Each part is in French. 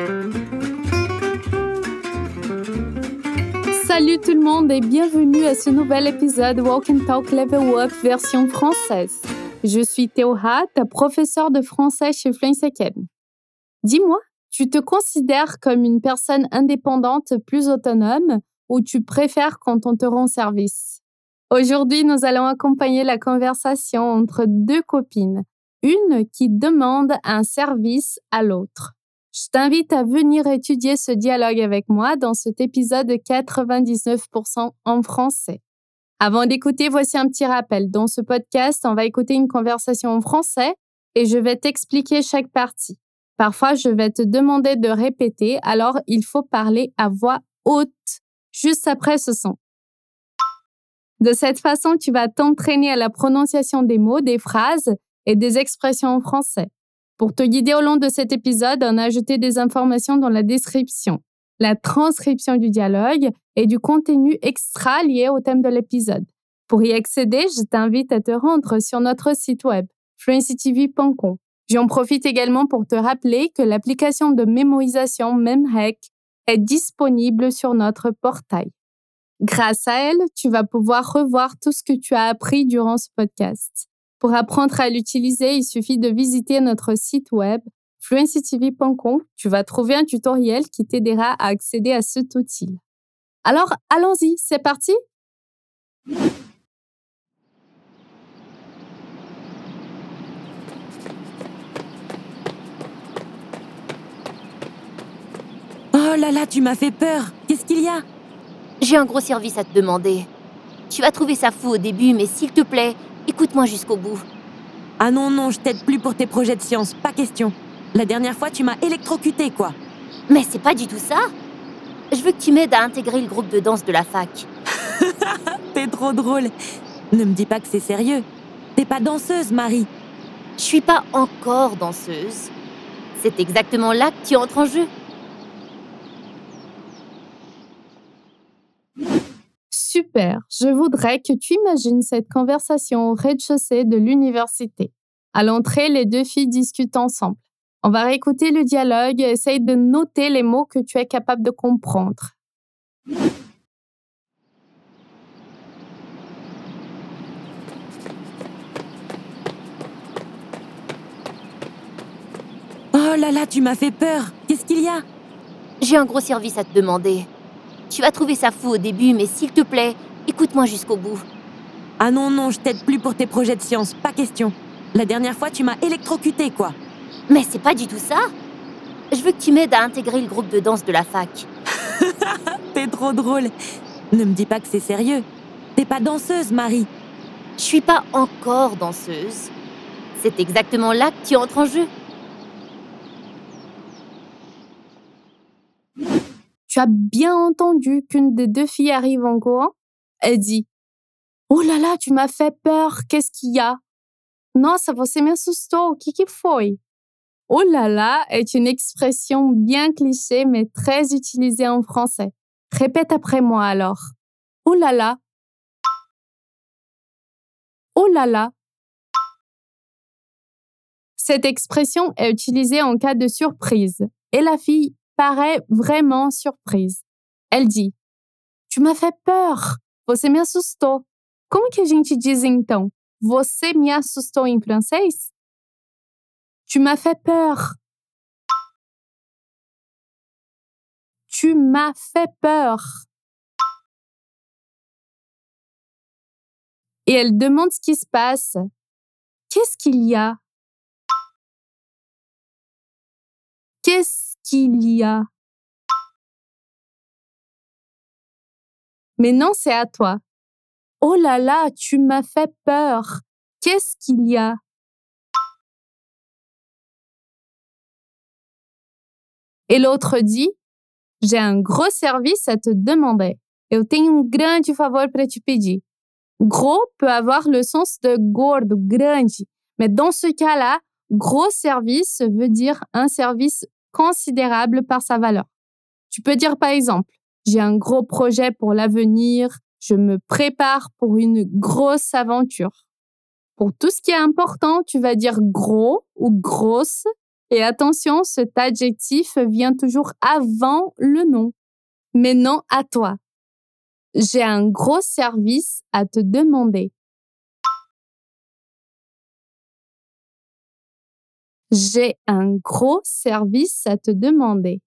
Salut tout le monde et bienvenue à ce nouvel épisode Walk and Talk Level Up version française. Je suis Théoha, ta professeure de français chez Fluency Academy. Dis-moi, tu te considères comme une personne indépendante plus autonome ou tu préfères quand on te rend service? Aujourd'hui, nous allons accompagner la conversation entre deux copines, une qui demande un service à l'autre. Je t'invite à venir étudier ce dialogue avec moi dans cet épisode de 99% en français. Avant d'écouter, voici un petit rappel. Dans ce podcast, on va écouter une conversation en français et je vais t'expliquer chaque partie. Parfois, je vais te demander de répéter, alors il faut parler à voix haute juste après ce son. De cette façon, tu vas t'entraîner à la prononciation des mots, des phrases et des expressions en français. Pour te guider au long de cet épisode, on a ajouté des informations dans la description, la transcription du dialogue et du contenu extra lié au thème de l'épisode. Pour y accéder, je t'invite à te rendre sur notre site web, fluencytv.com. J'en profite également pour te rappeler que l'application de mémorisation MemHack est disponible sur notre portail. Grâce à elle, tu vas pouvoir revoir tout ce que tu as appris durant ce podcast. Pour apprendre à l'utiliser, il suffit de visiter notre site web fluencytv.com. Tu vas trouver un tutoriel qui t'aidera à accéder à cet outil. Alors, allons-y, c'est parti? Oh là là, tu m'as fait peur. Qu'est-ce qu'il y a? J'ai un gros service à te demander. Tu vas trouver ça fou au début, mais s'il te plaît, écoute-moi jusqu'au bout. Ah non, je t'aide plus pour tes projets de science, pas question. La dernière fois, tu m'as électrocuté, quoi. Mais c'est pas du tout ça. Je veux que tu m'aides à intégrer le groupe de danse de la fac. T'es trop drôle. Ne me dis pas que c'est sérieux. T'es pas danseuse, Marie. Je suis pas encore danseuse. C'est exactement là que tu entres en jeu. Super, je voudrais que tu imagines cette conversation au rez-de-chaussée de l'université. À l'entrée, les deux filles discutent ensemble. On va réécouter le dialogue et essaye de noter les mots que tu es capable de comprendre. Oh là là, tu m'as fait peur. Qu'est-ce qu'il y a? J'ai un gros service à te demander. Tu vas trouver ça fou au début, mais s'il te plaît, écoute-moi jusqu'au bout. Ah non, je t'aide plus pour tes projets de science, pas question. La dernière fois, tu m'as électrocuté, quoi. Mais c'est pas du tout ça. Je veux que tu m'aides à intégrer le groupe de danse de la fac. T'es trop drôle. Ne me dis pas que c'est sérieux. T'es pas danseuse, Marie. Je suis pas encore danseuse. C'est exactement là que tu entres en jeu. Tu as bien entendu qu'une des deux filles arrive en courant? Elle dit « Oh là là, tu m'as fait peur, qu'est-ce qu'il y a? » Nossa, você me assustou, o que foi? Oh là là est une expression bien cliché mais très utilisée en français. Répète après moi alors. Oh là là. Oh là là. Cette expression est utilisée en cas de surprise et la fille paraît vraiment surprise. Elle dit « Tu m'as fait peur, você me assustou. » Como que a gente diz então? Você me assustou em francês? Tu m'as fait peur. Tu m'as fait peur. Et elle demande ce qui se passe. Qu'est-ce qu'il y a? Qu'est-ce qu'il y a? Mais non, c'est à toi. Oh là là, tu m'as fait peur. Qu'est-ce qu'il y a? Et l'autre dit, j'ai un gros service à te demander. Eu tenho grande favor para te pedir. Gros peut avoir le sens de gordo, grande. Mais dans ce cas-là, gros service veut dire un service considérable par sa valeur. Tu peux dire par exemple, j'ai un gros projet pour l'avenir, je me prépare pour une grosse aventure. Pour tout ce qui est important, tu vas dire gros ou grosse Et attention, cet adjectif vient toujours avant le nom, mais non à toi. J'ai un gros service à te demander. J'ai un gros service à te demander.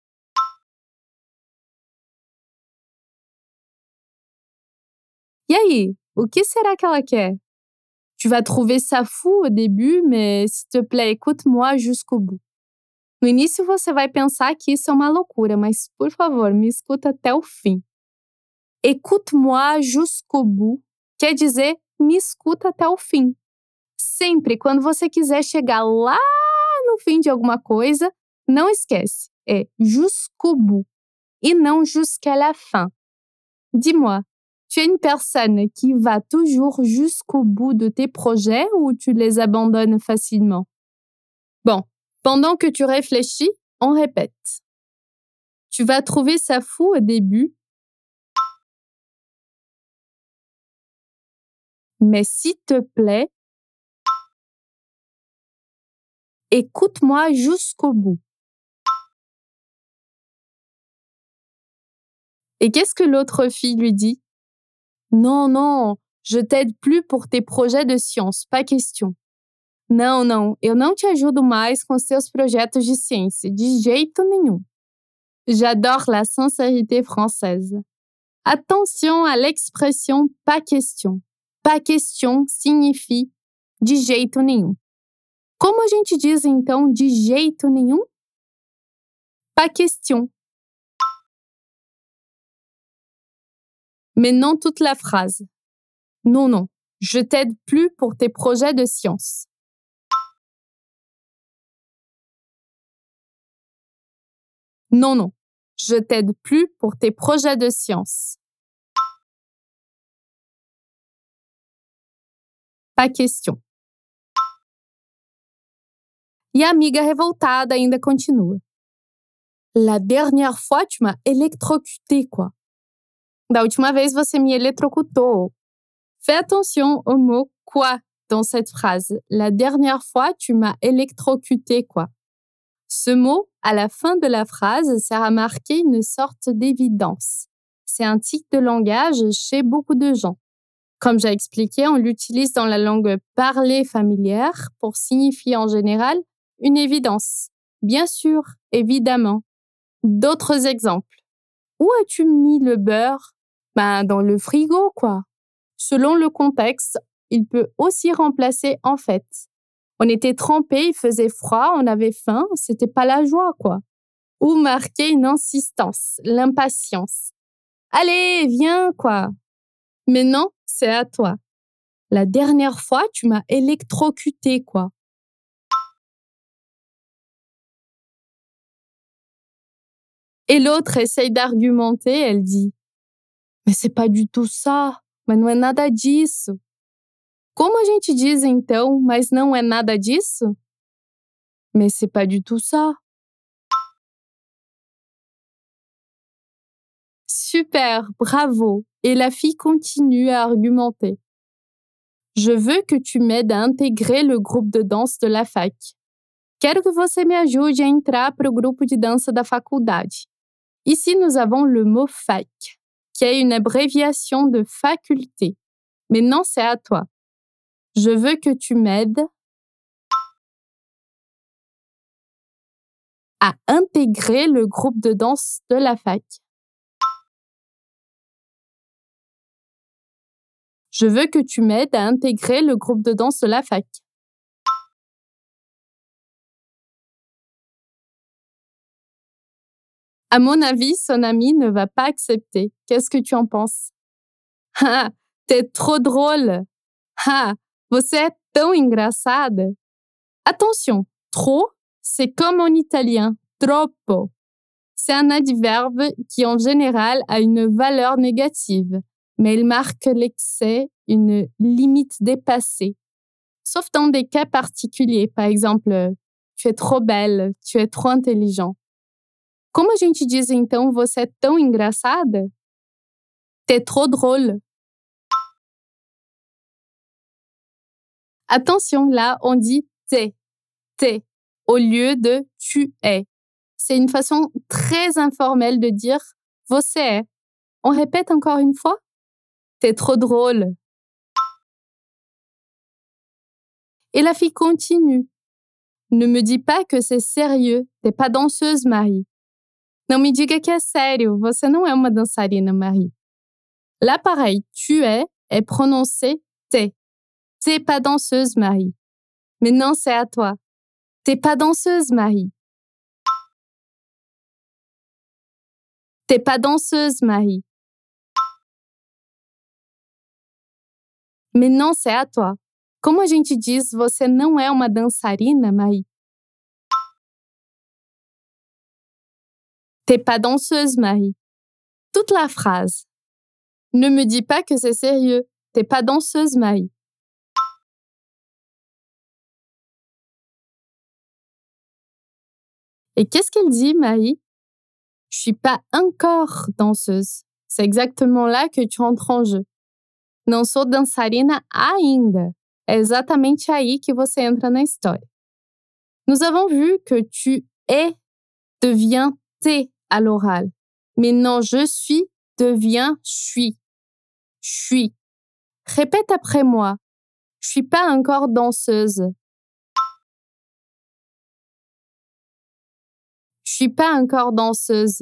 E aí, o que será que ela quer? Tu vas trouver ça fou au début, mais s'il te plaît, écoute-moi jusqu'au bout. No início você vai pensar que isso é uma loucura, mas por favor, me escuta até o fim. Écoute-moi jusqu'au bout quer dizer me escuta até o fim. Sempre quando você quiser chegar lá no fim de alguma coisa, não esquece, é jusqu'au bout e não jusqu'à la fin. Dis-moi, tu es une personne qui va toujours jusqu'au bout de tes projets ou tu les abandonnes facilement? Bon, pendant que tu réfléchis, on répète. Tu vas trouver ça fou au début, mais s'il te plaît, écoute-moi jusqu'au bout. Et qu'est-ce que l'autre fille lui dit? Non, non, je t'aide plus pour tes projets de science, pas question. Não, não, eu não te ajudo mais com os teus projetos de ciência, de jeito nenhum. J'adore la sincérité française. Attention à l'expression pas question. Pas question signifie de jeito nenhum. Como a gente diz então de jeito nenhum? Pas question. Mais non toute la phrase. Non, non, je t'aide plus pour tes projets de science. Non, non, je t'aide plus pour tes projets de science. Pas question. E a amiga revoltada ainda continua. La dernière fois, tu m'as électrocuté, quoi. Da última vez, você me eletrocutou. Fais attention au mot quoi dans cette phrase. La dernière fois, tu m'as électrocuté, quoi. Ce mot, à la fin de la phrase, sert à marquer une sorte d'évidence. C'est un tic de langage chez beaucoup de gens. Comme j'ai expliqué, on l'utilise dans la langue parlée familière pour signifier en général une évidence. Bien sûr, évidemment. D'autres exemples. Où as-tu mis le beurre? Dans le frigo, quoi. Selon le contexte, il peut aussi remplacer en fait. On était trempés, il faisait froid, on avait faim, c'était pas la joie, quoi. Ou marquer une insistance, l'impatience. Allez, viens, quoi. Mais non, c'est à toi. La dernière fois, tu m'as électrocuté, quoi. Et l'autre essaye d'argumenter, elle dit « Mais c'est pas du tout ça, mas não é nada disso. » Como a gente diz então, mas não é nada disso? Mais c'est pas du tout ça. Super, bravo. Et la fille continue à argumenter. Je veux que tu m'aides à intégrer le groupe de danse de la fac. Quero que você me ajude a entrar para o grupo de dança da faculdade. Ici, nous avons le mot fac, qui est une abréviation de faculté. Mais non, c'est à toi. Je veux que tu m'aides à intégrer le groupe de danse de la fac. Je veux que tu m'aides à intégrer le groupe de danse de la fac. À mon avis, son ami ne va pas accepter. Qu'est-ce que tu en penses? Ah, t'es trop drôle. Ah, você é tão engraçada. Attention, trop, c'est comme en italien, troppo. C'est un adverbe qui en général a une valeur négative, mais il marque l'excès, une limite dépassée. Sauf dans des cas particuliers, par exemple, tu es trop belle, tu es trop intelligent. Como a gente diz então você é tão engraçada? T'es trop drôle. Attention, là, on dit t'es. au lieu de tu es. C'est une façon très informelle de dire você é. On répète encore une fois? T'es trop drôle. Et la fille continue. Ne me dis pas que c'est sérieux. T'es pas danseuse, Marie. Não me diga que é sério. Você não é uma dançarina, Marie. Là, pareil, tu est prononcé t'es. T'es pas danseuse, Marie. Mais non, c'est à toi. T'es pas danseuse, Marie. T'es pas danseuse, Marie. Mais non, c'est à toi. Como a gente diz, você não é uma dançarina, Marie? T'es pas danseuse, Marie. Toute la phrase. Ne me dis pas que c'est sérieux. T'es pas danseuse, Marie. Et qu'est-ce qu'elle dit, Marie? Je suis pas encore danseuse. C'est exactement là que tu entres en jeu. Não sou dançarina ainda. É exatamente aí que você entra na história. Nous avons vu que tu es devient t'es à l'oral. Mais non, je suis devient suis. Suis. Répète après moi. Je suis pas encore danseuse. Je suis pas encore danseuse.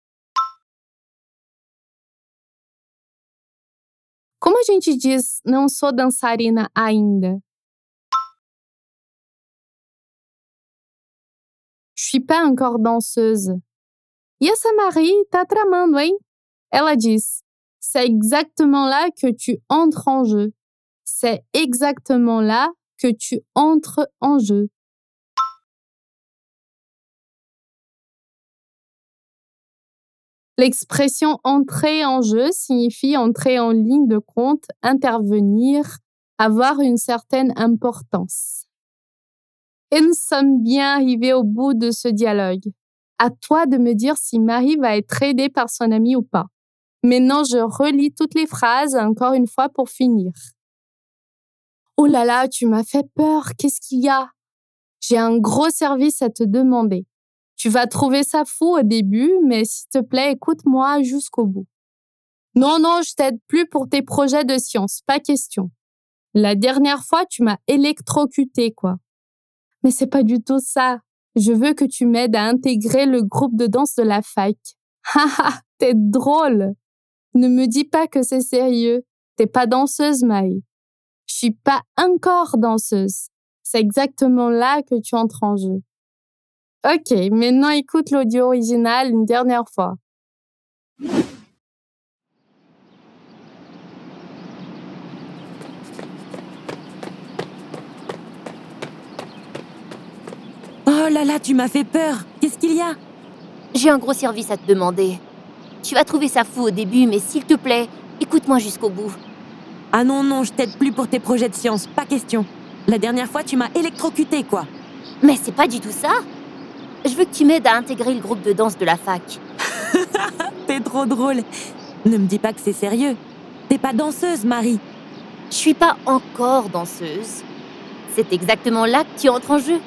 Como a gente diz não sou dançarina ainda? Je suis pas encore danseuse. E essa Marie tá tramando, hein? Ela diz: c'est exactement là que tu entres en jeu. C'est exactement là que tu entres en jeu. L'expression entrer en jeu signifie entrer en ligne de compte, intervenir, avoir une certaine importance. Et nous sommes bien arrivés au bout de ce dialogue. À toi de me dire si Marie va être aidée par son ami ou pas. Maintenant, je relis toutes les phrases encore une fois pour finir. Oh là là, tu m'as fait peur, qu'est-ce qu'il y a? J'ai un gros service à te demander. Tu vas trouver ça fou au début, mais s'il te plaît, écoute-moi jusqu'au bout. Non, non, je t'aide plus pour tes projets de science, pas question. La dernière fois, tu m'as électrocuté, quoi. Mais c'est pas du tout ça. Je veux que tu m'aides à intégrer le groupe de danse de la fac. Haha, t'es drôle. Ne me dis pas que c'est sérieux. T'es pas danseuse, Maï. Je suis pas encore danseuse. C'est exactement là que tu entres en jeu. Ok, maintenant écoute l'audio original une dernière fois. Oh là là, tu m'as fait peur. Qu'est-ce qu'il y a? J'ai un gros service à te demander. Tu vas trouver ça fou au début, mais s'il te plaît, écoute-moi jusqu'au bout. Ah non, non, je t'aide plus pour tes projets de science, pas question. La dernière fois, tu m'as électrocuté, quoi. Mais c'est pas du tout ça. Je veux que tu m'aides à intégrer le groupe de danse de la fac. T'es trop drôle. Ne me dis pas que c'est sérieux. T'es pas danseuse, Marie. Je suis pas encore danseuse. C'est exactement là que tu entres en jeu.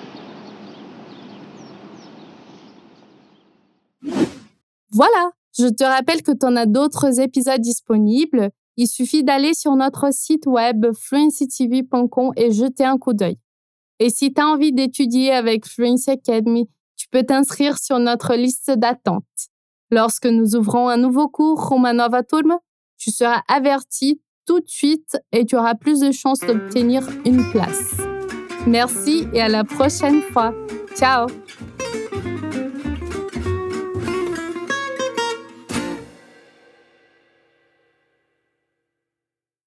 Voilà, je te rappelle que tu en as d'autres épisodes disponibles. Il suffit d'aller sur notre site web fluencytv.com et jeter un coup d'œil. Et si tu as envie d'étudier avec Fluency Academy, tu peux t'inscrire sur notre liste d'attente. Lorsque nous ouvrons un nouveau cours, uma nova turma, tu seras averti tout de suite et tu auras plus de chances d'obtenir une place. Merci et à la prochaine fois. Ciao!